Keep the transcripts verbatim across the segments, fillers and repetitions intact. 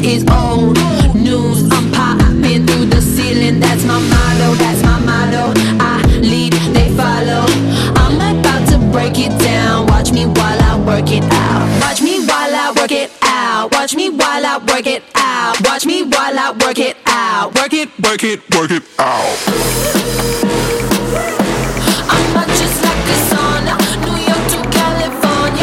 is old news. I'm popping through the ceiling. That's my motto, that's my motto. I lead, they follow. I'm about to break it down. Watch me while I work it out. Watch me while I work it out. Watch me while I work it out. Watch me while I work it out. Work it, work it, work it out. I'm not just like a sauna. New York to California.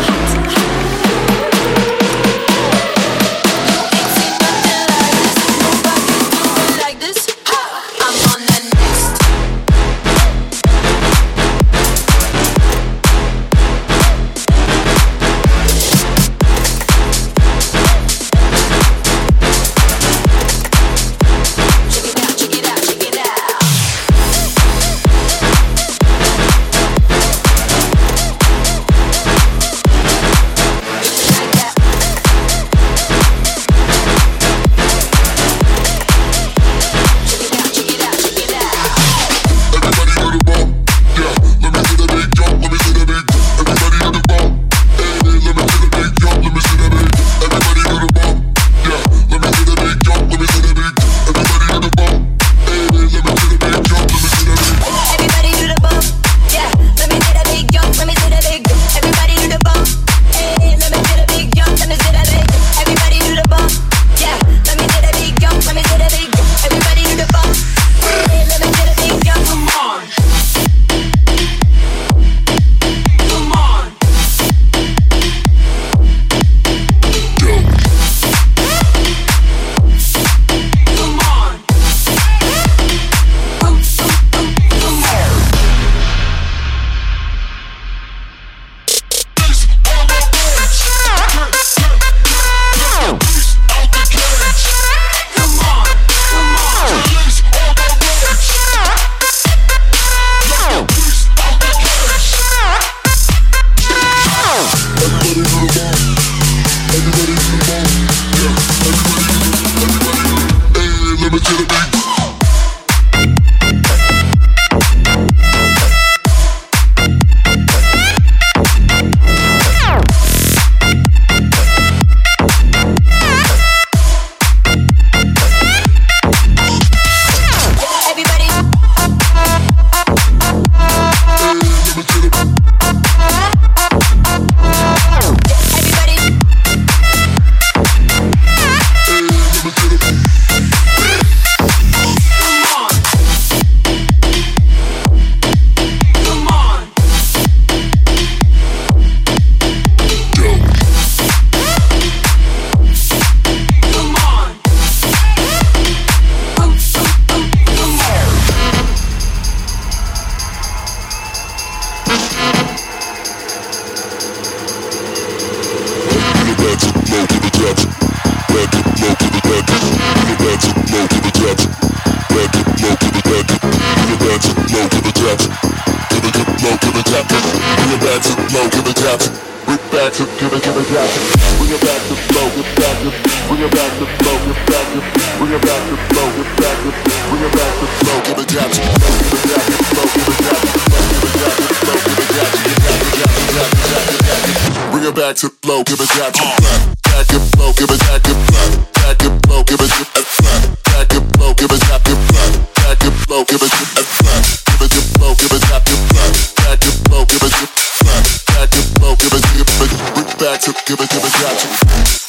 Back to flow, give it back to back and flow, give it back and back and flow, give it back and flow, give it back and back and flow, give it give it to flow, give it back and back and flow, give it back and flow, give it give it back to give it give it back to.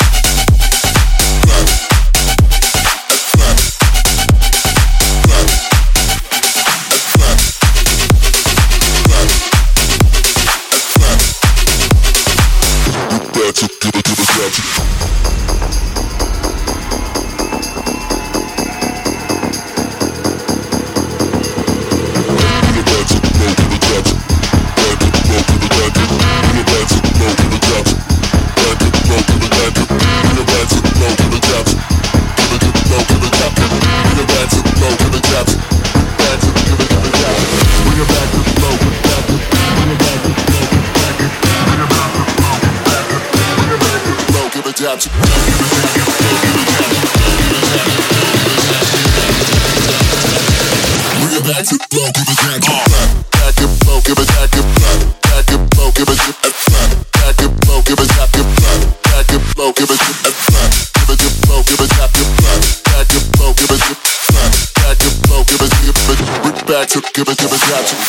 Back to flow, give it back to back and flow, give it back and back and flow, give it back and flow, give it back and flow, give it back and flow, give it back and flow. back to, give it, give it back to.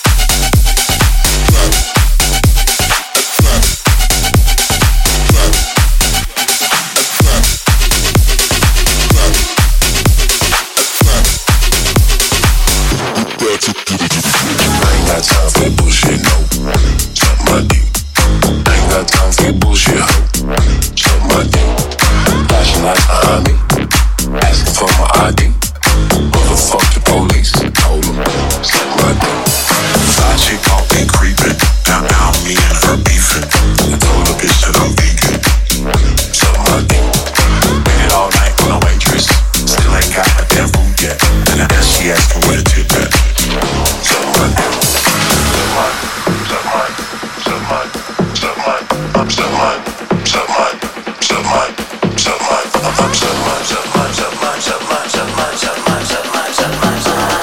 I ain't got time for bullshit, no. Suck my dick. I ain't got time for bullshit, ho. Suck my dick. Flashing lights behind me, asking for my I D. Motherfuck the police, told them, suck my dick. Side chick all been creeping, down down me and her beefing. I told the bitch that I'm vegan, suck my dick. Waited all night on a waitress, still ain't got my damn food yet. And then she asking where the tip at. Suck my dick. Suck mine, suck mine, suck mine, I'm suck mine, suck mine, suck mine, suck mine, I'm suck mine, suck mine, suck mine, suck mine, suck mine, suck mine, suck mine, suck mine, suck mine.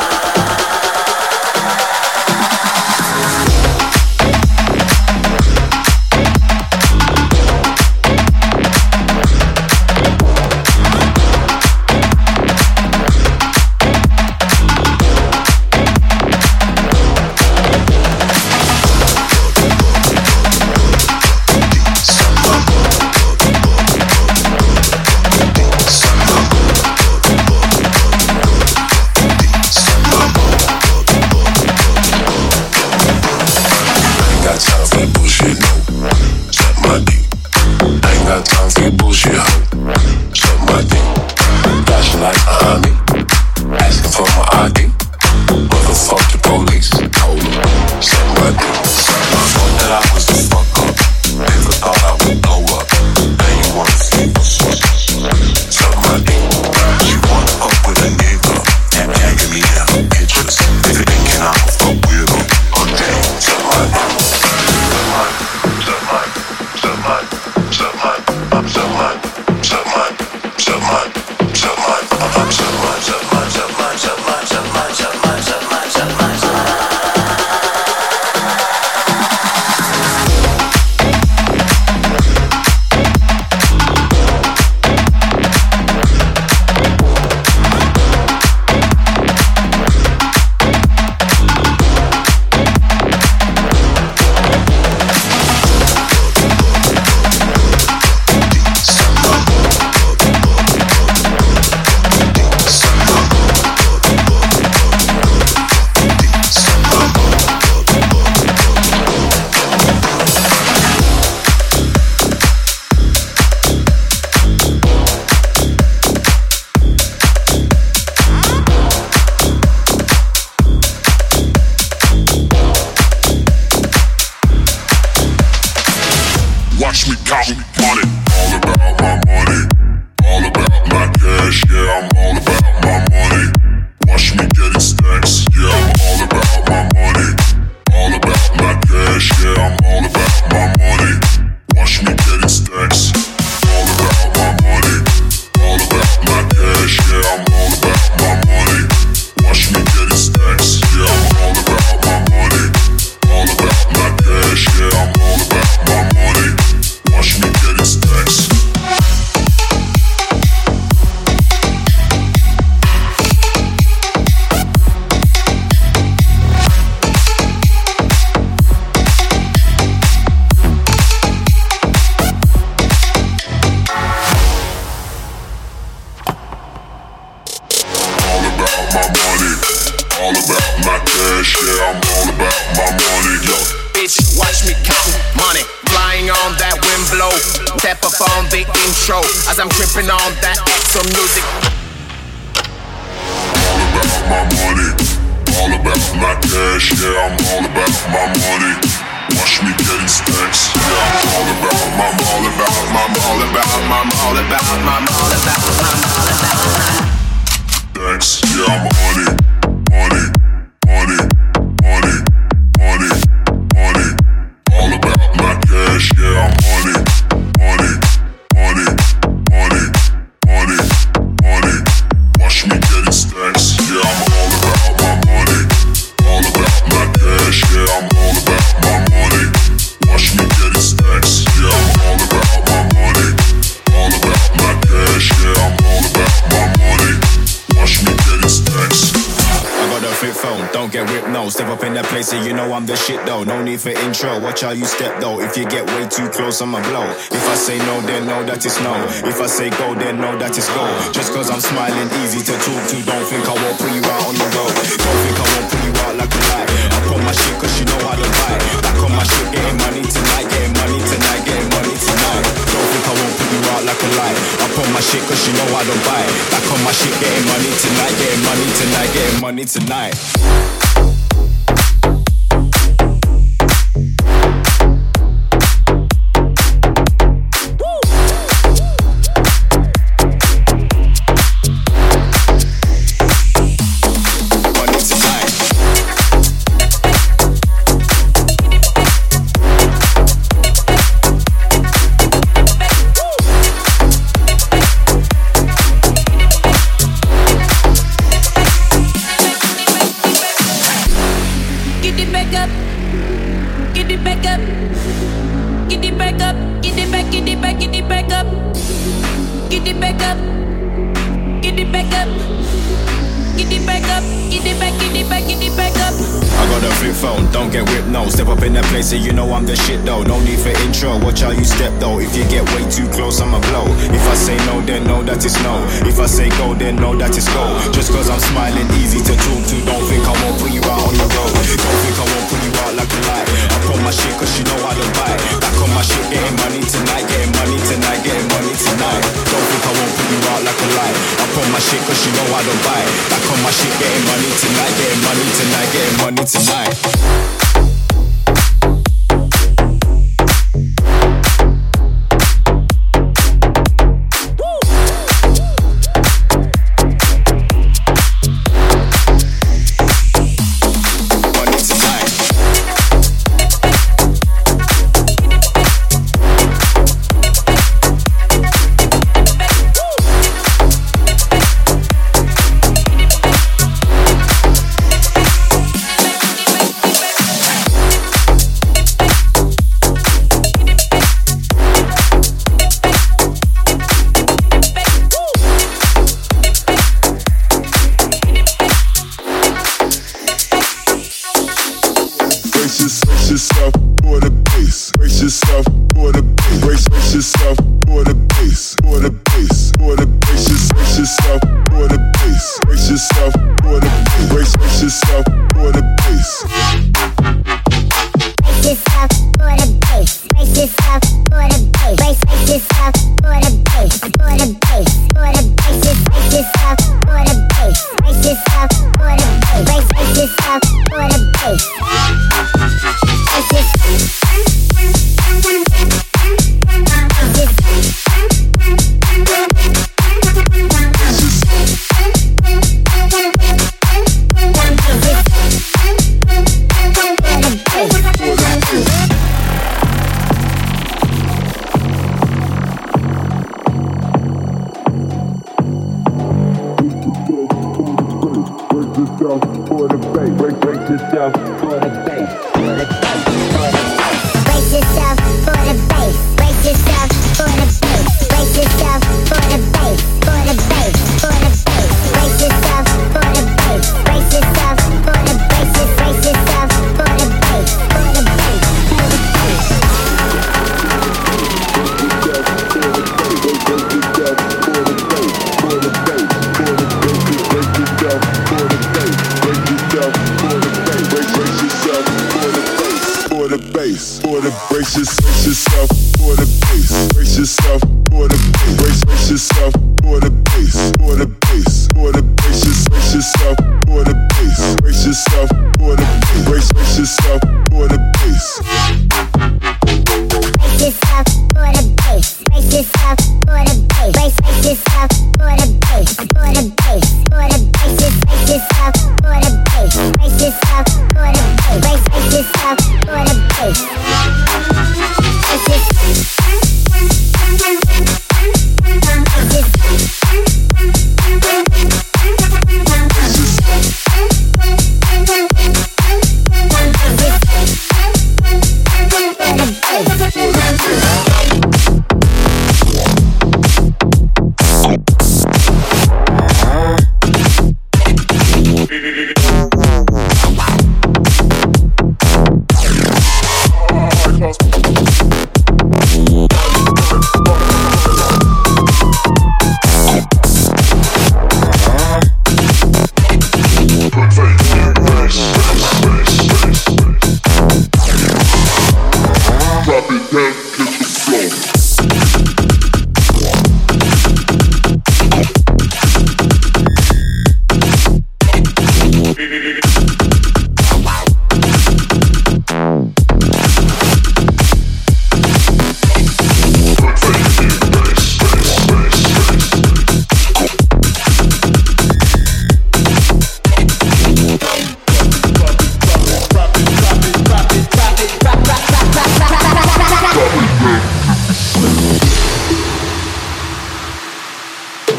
As I'm tripping on that extra music. All about my money, all about my cash, yeah, I'm all about my money. Watch me getting stacks, yeah, I'm all about my, I'm all about my, I'm all about my, I'm all about my, I'm all about my, I'm all about my stacks, yeah, I'm money, money, money, money, money, money. All about my cash, yeah, I'm money, money, money. Money, money, money. Watch me getting stacks. Yeah, I'm all about my money. All about my cash. Yeah, I'm all about my money. Watch me getting stacks. Yeah, I'm all about my money. All about my cash. Yeah, I'm all about my money. Watch me getting stacks. I got a fit don't get whipped, no. Step up in that place and you know I'm the shit though. No need for intro, watch how you step though. If you get way too close, I'ma blow. If I say no, then know that it's no. If I say go, then know that it's go. Just cause I'm smiling, easy to talk to. Don't think I won't put you out on the road. Don't think I won't put you out like a light. I put my shit cause you know how to buy. Back on my shit, getting money tonight. Getting money tonight, getting money tonight. Don't think I won't put you out like a light. I put my shit cause you know how to buy. Back on my shit, getting money tonight. Getting money tonight, getting money tonight. So you know I'm the shit though, no need for intro, watch how you step though. If you get way too close, I'ma blow. If I say no, then know that it's no. If I say go, then know that it's go. Just cause I'm smiling, easy to talk to. Don't think I won't put you out on the road. Don't think I won't put you out like a light. I put my shit cause you know how to buy. Back on my shit, getting money tonight. Getting money tonight, getting money tonight. Don't think I won't put you out like a light. I put my shit cause you know how to buy. Back on my shit, getting money tonight. Getting money tonight, getting money tonight. This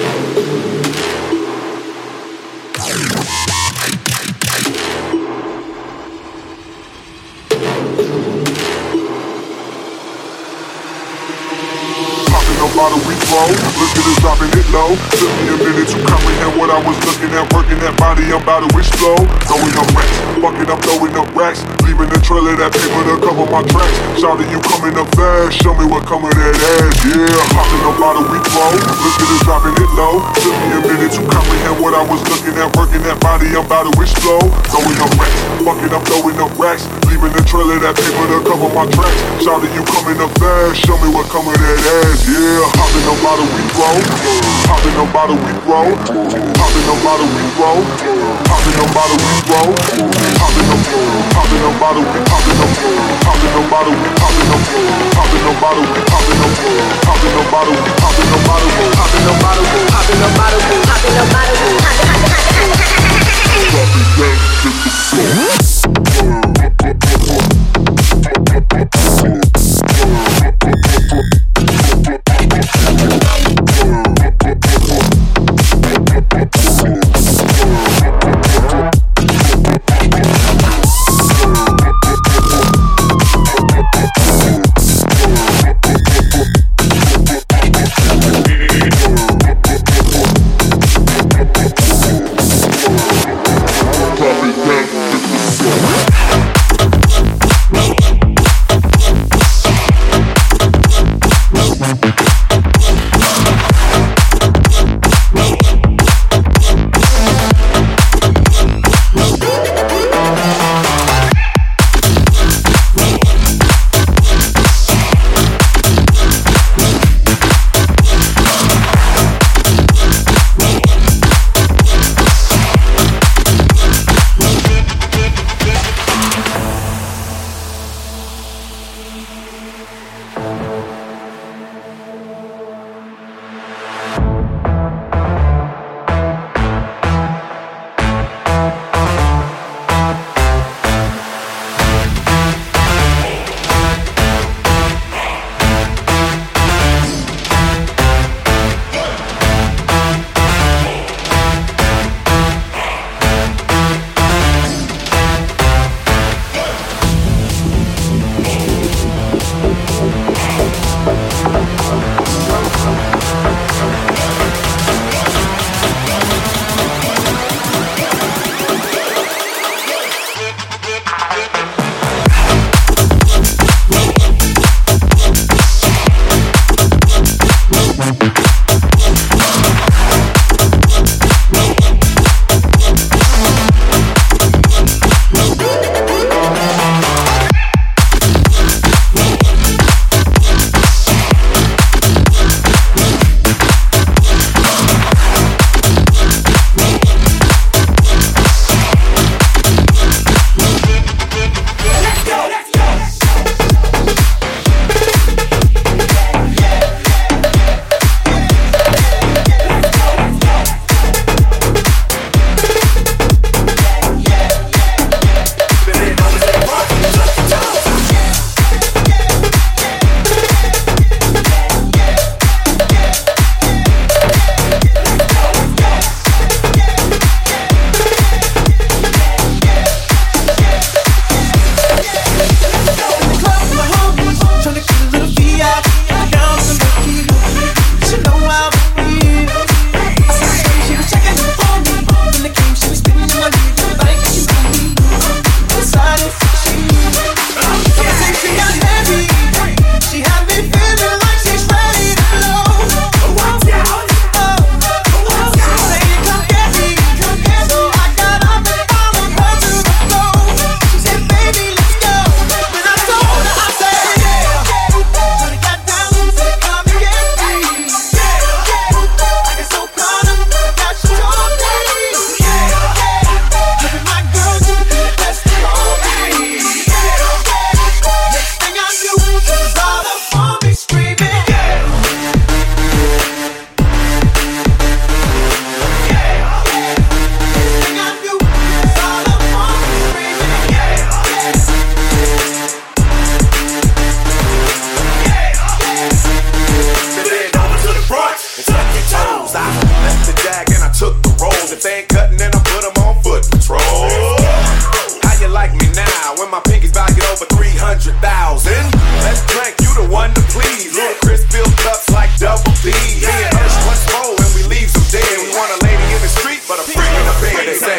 Bottle we throw, look at us dropping it low. Took me a minute to comprehend what I was looking at. Working that body, I'm about to explode. Throwing up racks, fucking up, throwing up racks. Leaving the trail of that paper to cover my tracks. Shouting, you coming up fast, show me what come with that ass. Yeah, hopping up bottle we throw, look at us dropping it low. Took me a minute to comprehend what I was looking at. Working that body, I'm about to explode. Throwing up racks, fucking up, throwing up racks. Leaving the trail of that paper to cover my tracks. Shouting, you coming up fast, show me what come with that ass. Yeah. Hopping on bottle we throw, hopping on bottle we throw, hopping on bottle we throw, hopping on bottle we throw, hopping on, hopping on bottle we, hopping on, hopping on bottle we, hopping on, hopping on bottle we, hopping on, hopping on bottle we, hopping on bottle we, hopping on bottle we, hopping on bottle we, hopping on bottle we, they ain't cutting, then I put them on foot patrol. How you like me now when my pinky's valued over three hundred thousand? Let's drink, you the one to please. Ludacris fill cups like double D. Me and Ursh once more and we leave some dead. We want a lady in the street, but a freak in the bed, they say.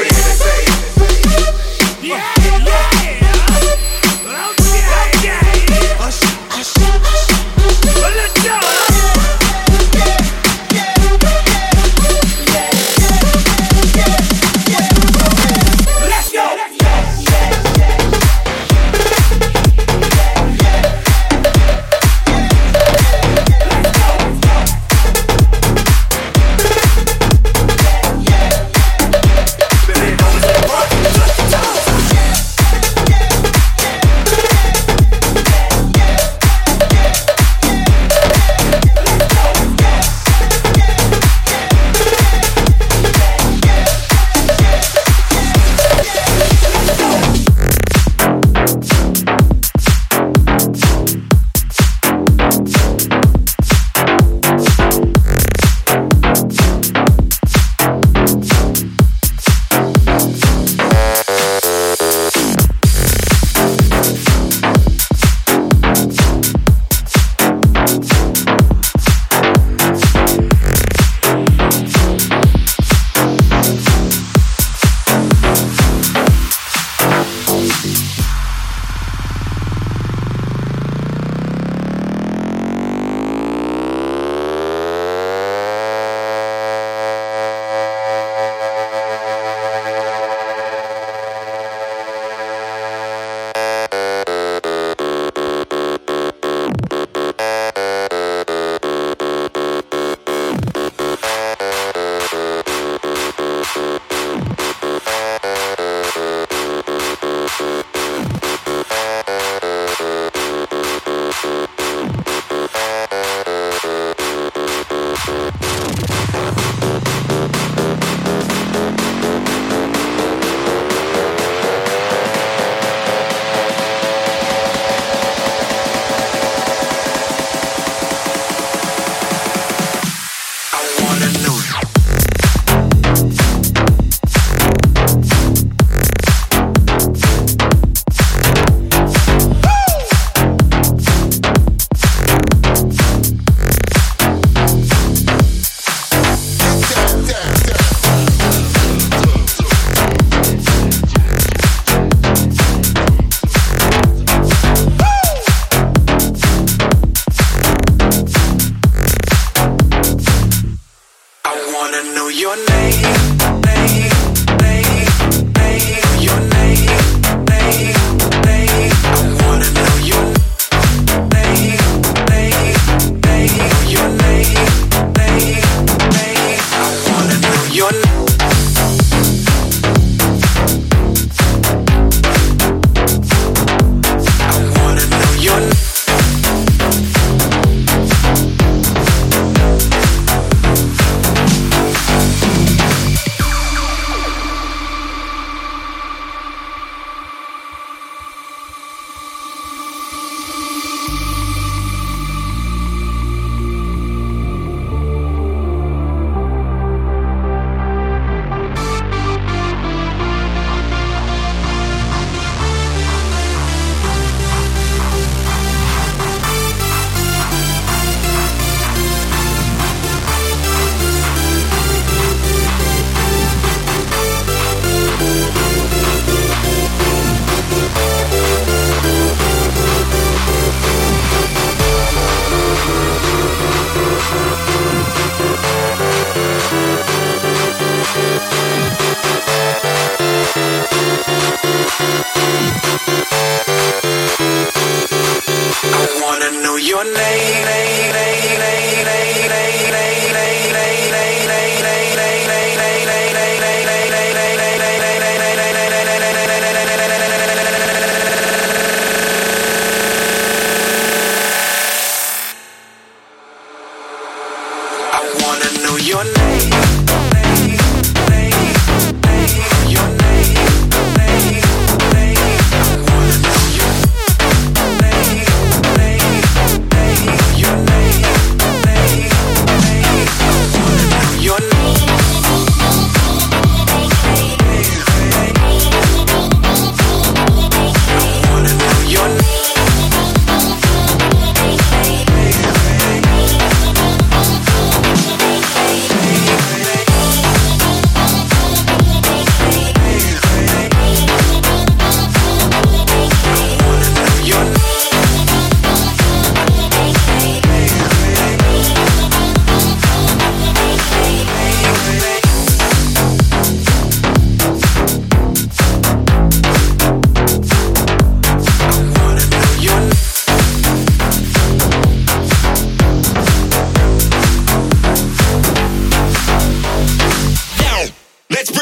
Yeah, yeah. Hush, hush, hush. Well, let's go.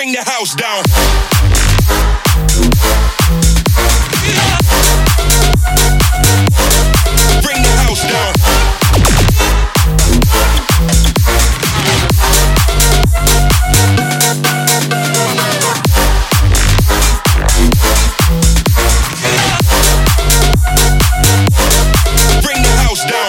bring the house down. Bring the house down. Bring the house down.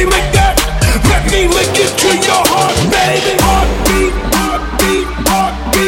Lick it to your heart, baby. Heartbeat, heartbeat, heartbeat.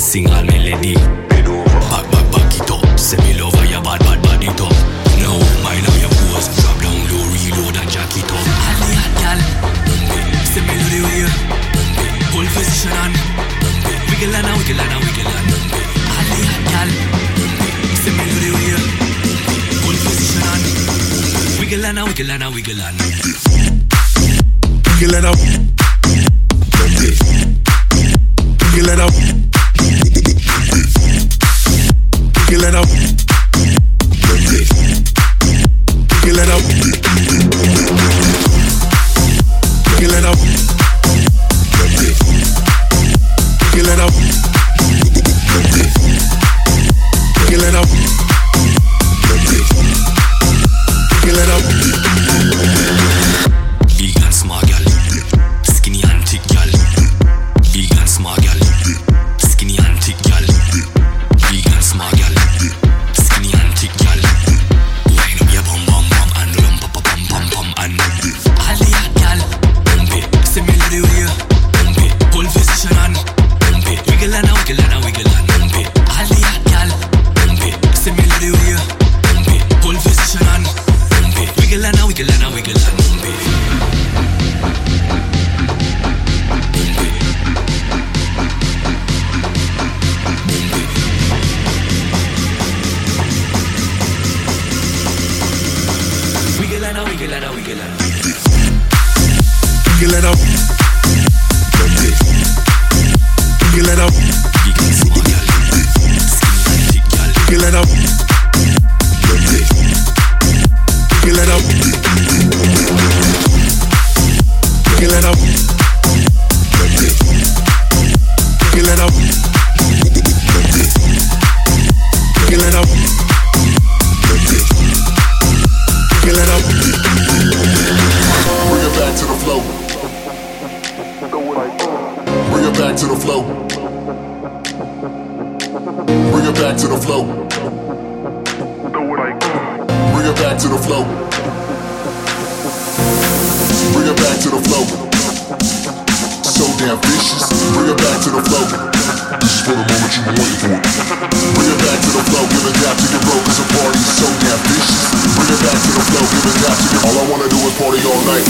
Sing all melody. Back, back, back it up. Say me love how your bad, bad, bad it up. Now, mind how your pose. Drop down low, reload and jack it up. All the hot gal. Say me love the way you. Hold position on. Wiggle and a wiggle and a wiggle and. All the hot gal. Say me love the way you. Hold position on. Wiggle and a wiggle and a wiggle and. Wiggle and a. Wiggle and a. Wiggle it up. Wiggle it up. Wiggle it up. Wiggle it up. Wiggle it up. Wiggle it up. Big and small gal, skinny and thick gal. Big and small gal, skinny and thick gal. Big and small gal, skinny and thick gal. Wind up your bum bum bum and lump up pum pum pum and all the hot gal. Bump it, say me love the way you. Bump it, hold position on. Bump it, wiggle and a wiggle and a wiggle and bump it. All the hot gal. Bump it, say me love the way you. Bump it, hold position on. Bump it, wiggle and a wiggle and a wiggle and bump it. Wiggle and a wiggle and a wiggle and wiggle it up. Wiggle it up. Big and small gal, skinny and thick gal. Wiggle it up. Wiggle it up. Wiggle it up. Wiggle it up. Wiggle it up. Wiggle it up. Bring it back to the flow. Bring it back to the flow. Bring it back to the flow. Bring it back to the flow. Bring it back to the flow. So damn vicious. Bring it back to the flow. This is for the moment you've been waiting for. Bring it back to the flow. Give it down to your bro, cause the party is so damn vicious. Bring it back to the flow. Give it down to your. All I wanna do is party all night.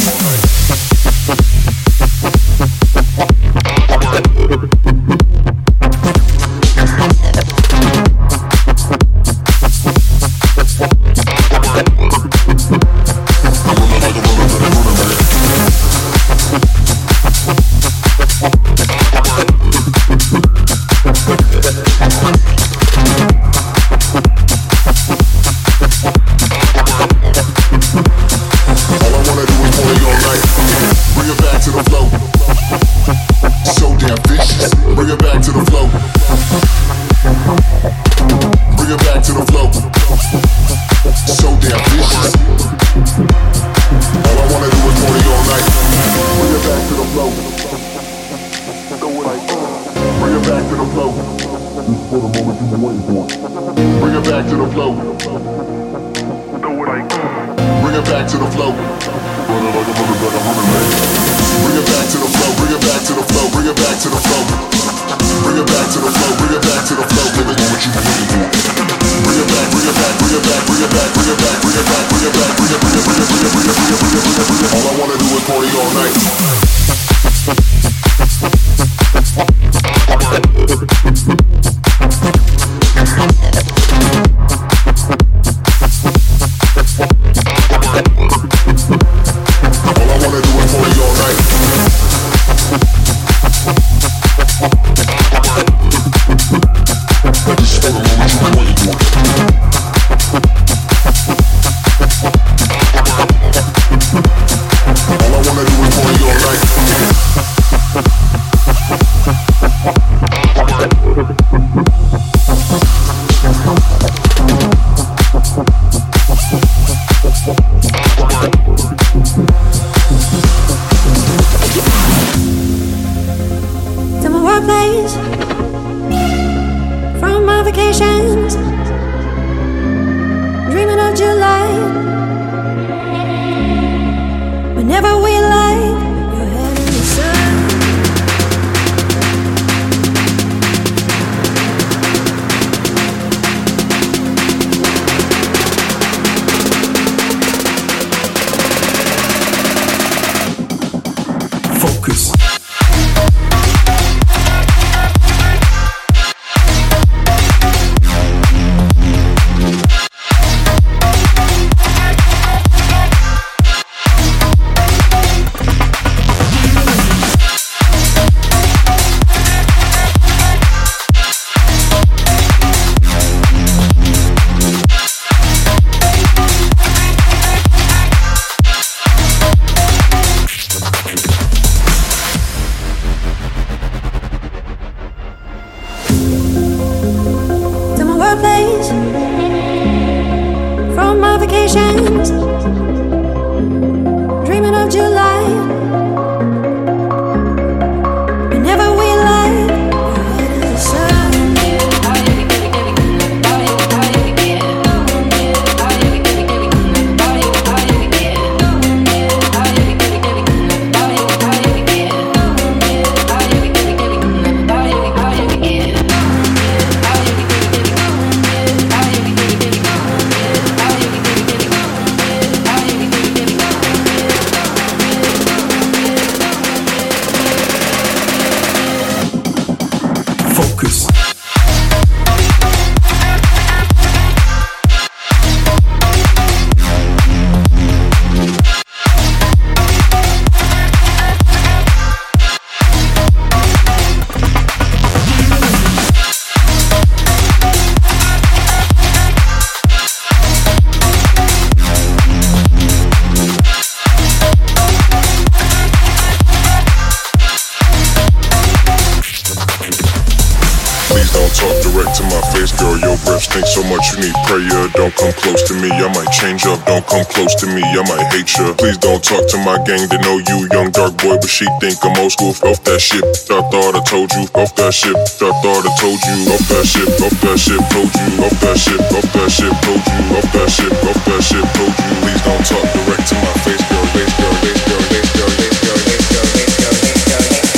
Please don't talk direct to my face, girl. Your breath stinks so much you need prayer. Don't come close to me, I might change up. Don't come close to me, I might hate ya. Please don't talk to my gang, they know you young dark boy, but she think I'm old school. Off that shit, I thought I told you. Off that shit, I thought I told you. Off that shit, off that shit, told you. Off that shit, off that shit, told you. Off that shit, off that shit, told you. Please don't talk direct to my face, girl. Face, girl, face, girl, face, girl, face, girl, face, girl, face, girl, face, girl, face,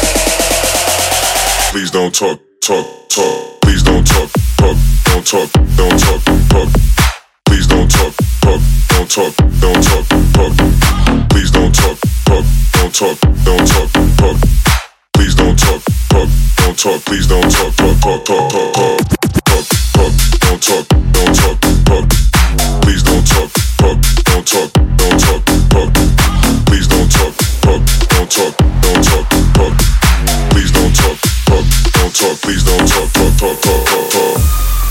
girl. Please don't talk, talk, talk. Please don't talk, talk, don't talk, don't talk, talk. Please don't talk, talk, don't talk, don't talk, talk. Please don't talk, talk, don't talk, don't talk, talk. Please don't talk, talk, don't talk. Please don't talk, talk, talk, talk, talk, talk, talk, don't talk, don't talk, talk. Please don't talk, talk, don't talk, don't talk, talk. Please don't talk, talk, don't talk, don't talk, talk. Please don't talk, talk, don't talk. Please don't talk, talk, talk, talk, talk, talk.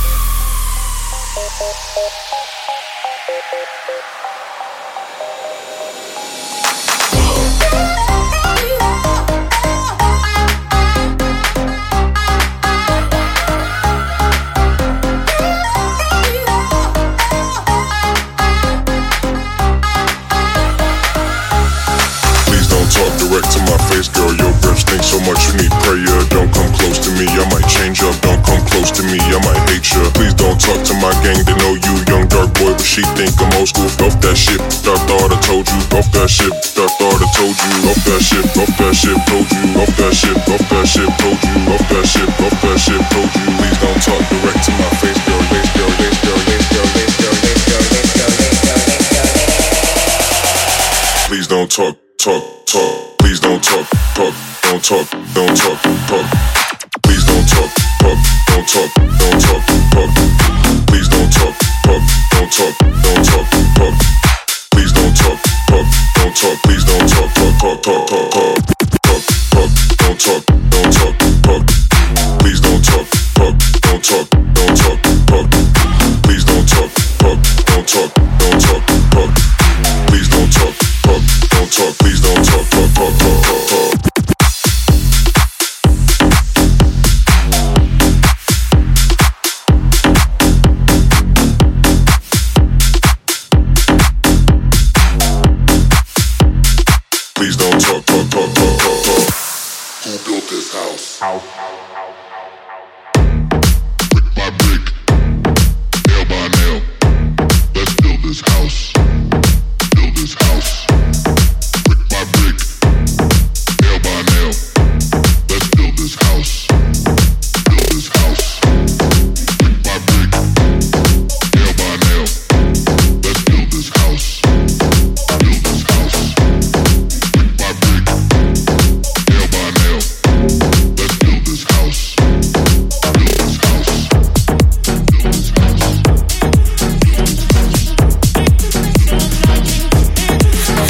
Direct to my face, girl, your breath stinks so much you need prayer. Don't come close to me, I might change up. Don't come close to me, I might hate ya. Please don't talk to my gang, they know you young dark boy, but she think I'm old school. Off that shit, I thought I told you. Off that shit, I thought I told you. Off that shit, off that shit, told you. Off that shit, off that shit, told you. Off that shit, off that shit, told you. Please don't talk direct to my face, girl, face, girl, face, girl, face, girl, face, girl, face, girl, face, girl, face, girl, face, girl. Please don't talk, talk, talk. Please don't talk, talk, don't talk, don't talk, talk. Please don't talk, talk, don't talk, don't talk, talk. Please don't talk, talk, don't talk, don't talk, talk. Please don't talk, talk, don't talk. Please don't talk, talk, talk, talk, talk, talk, talk, don't talk, don't talk, talk. Please don't talk, talk, don't talk, don't talk, talk. Please don't talk, talk, don't talk, don't talk, talk. Please don't talk, talk, don't talk. Please don't talk, talk, talk, talk, talk, talk. Please don't talk, talk, talk, talk, talk, talk. Who built this house? House. Brick by brick, nail by nail. Let's build this house. Build this house. Brick by brick, nail by nail. Let's build this house. Build this house. Brick by brick, nail by nail. Let's build this house. Build this house. Brick by brick, nail by nail. Let's build this house. Build this house. Build this house.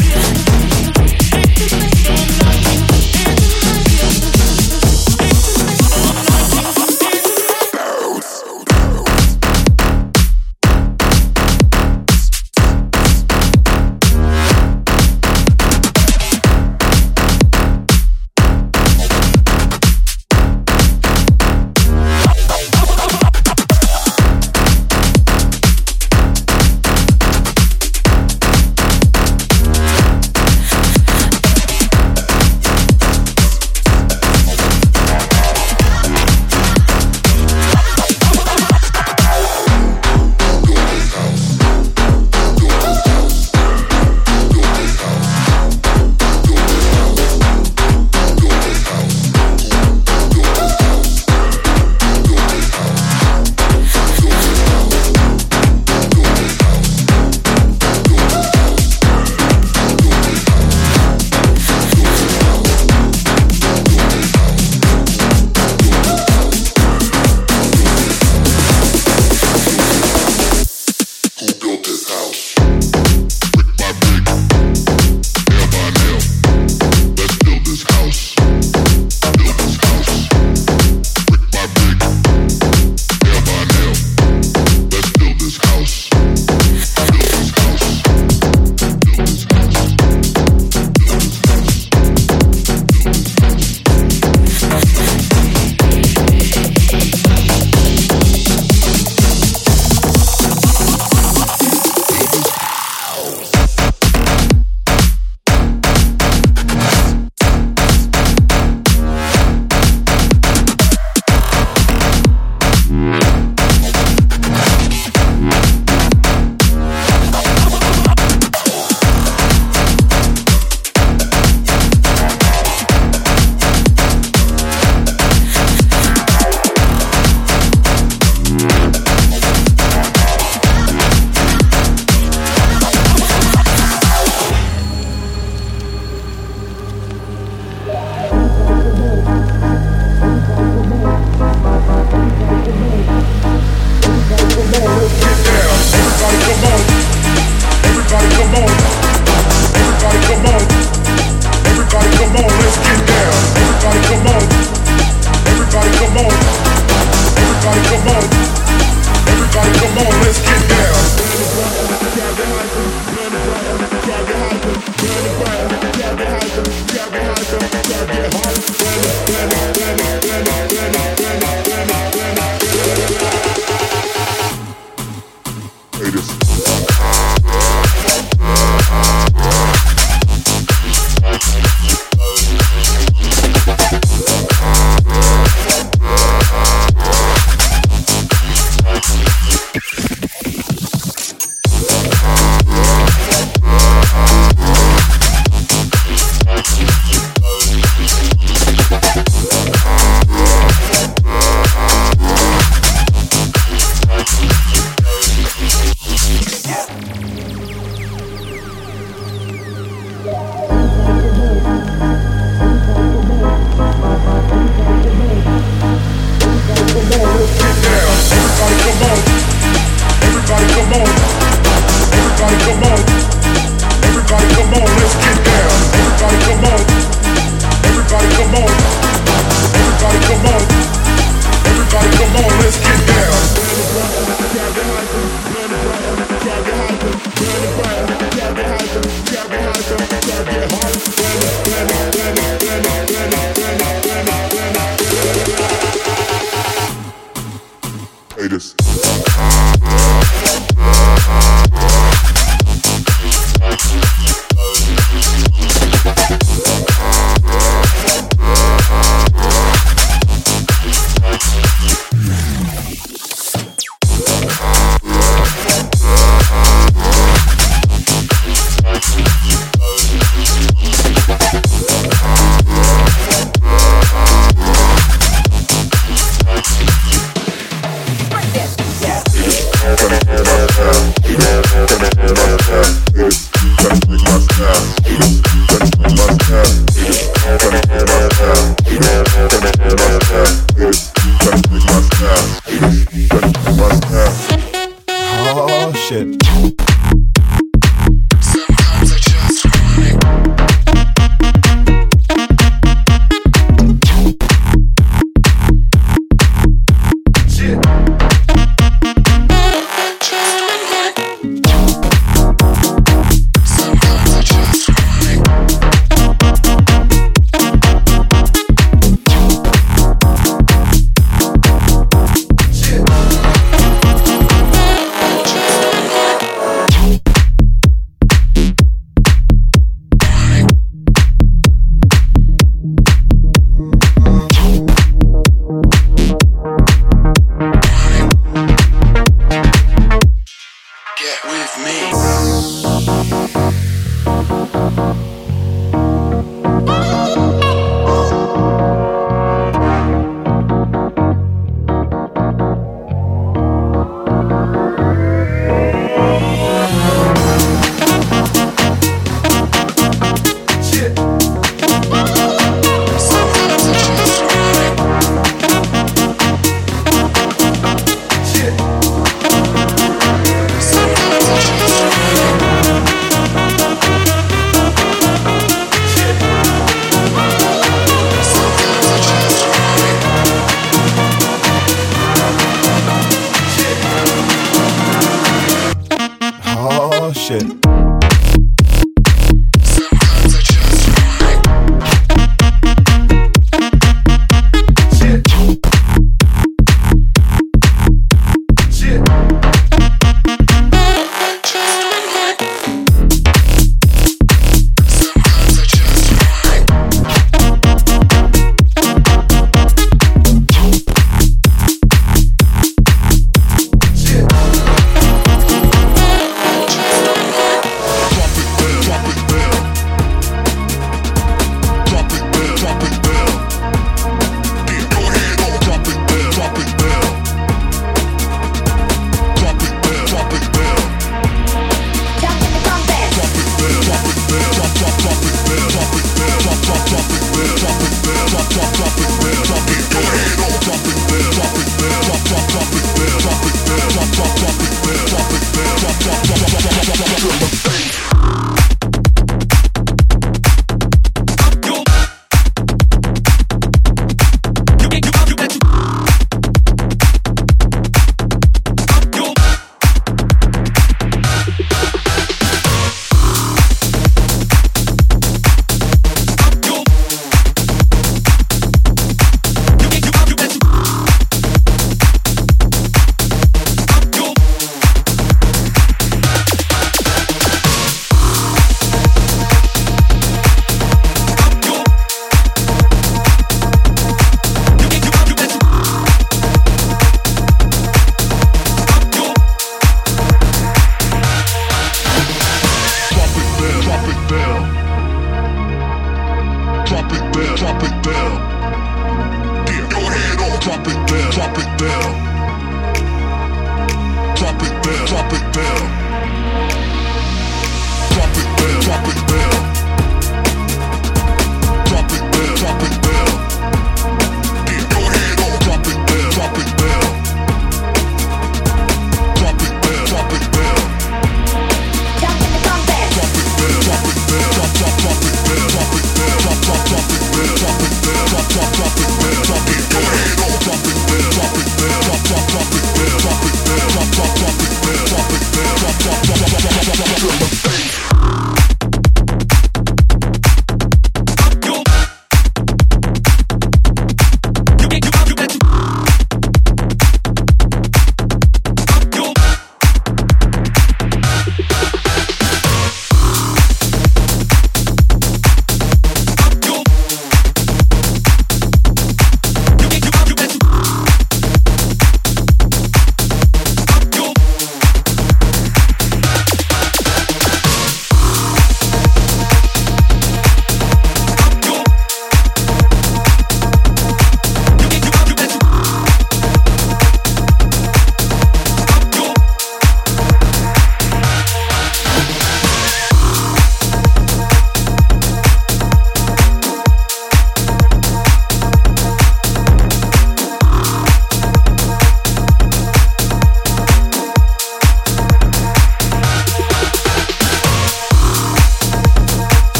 drop, drop, drop it.